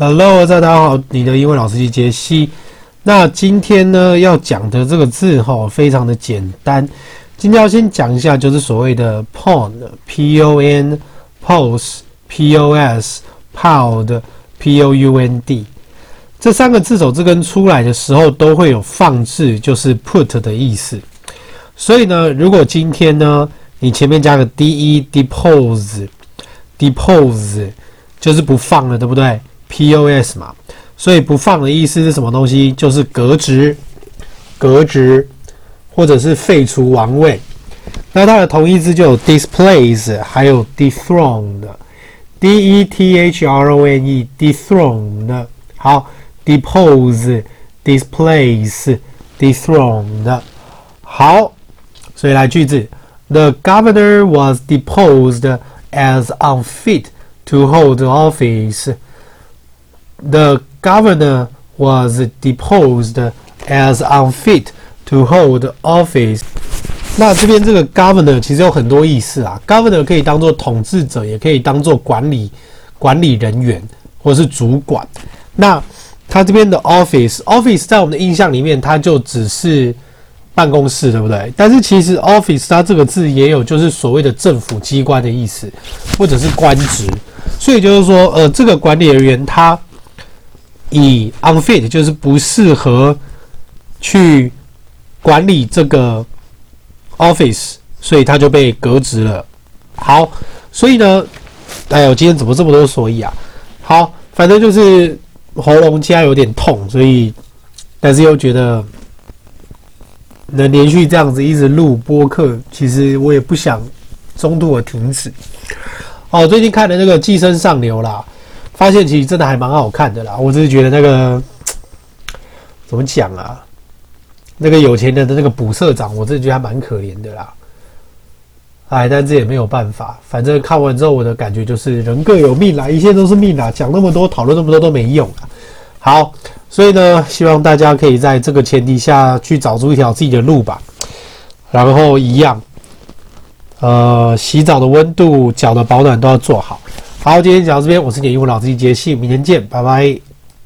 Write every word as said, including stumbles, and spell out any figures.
Hello， 大家好，你的英文老師機傑西。那今天呢要講的這個字哈，非常的簡單。今天要先講一下，就是所謂的 pon，p o n pos，p o s pound，p o u n d 這三個字首字根出來的時候，都會有放置，就是 put 的意思。所以呢，如果今天呢，你前面加個 de，depose，depose 就是不放了，對不對？P O S 嘛，所以不放的意思是什麼東西？就是革職、革職，或者是廢除王位。那它的同義字就有 displace， 還有 dethroned，D E T H R O N E，dethroned。好 ，depose、displace、dethroned。好，所以來句子 ：The governor was deposed as unfit to hold office.The governor was deposed as unfit to hold office. 那這邊這個 governor 其實有很多意思啊。governor 可以當作統治者，也可以當作管理管理人員或是主管。那他這邊的 office，office 在我們的印象裡面，它就只是辦公室，對不對？但是其實 office 它這個字也有就是所謂的政府機關的意思，或者是官職。所以就是說，呃，這個管理人員他以 unfit 就是不適合去管理這個 office， 所以他就被革職了。好，所以呢，哎呦，今天怎麼這麼多所以啊？好，反正就是喉嚨現在有點痛，所以但是又覺得能連續這樣子一直錄播客，其實我也不想中途的停止。哦，最近看的那個《寄生上流》啦。發現其實真的還蠻好看的啦，我只是覺得那個怎麼講啊？那個有錢人的那個補社長，我真的覺得還蠻可憐的啦。哎，但這也沒有辦法，反正看完之後我的感覺就是人各有命啦，一切都是命啦，講那麼多，討論那麼多都沒用啦。好，所以呢，希望大家可以在這個前提下去找出一條自己的路吧。然後一樣，呃，洗澡的溫度、腳的保暖都要做好。好，今天講到這邊，我是你的英文老師機傑西，明天見，拜拜。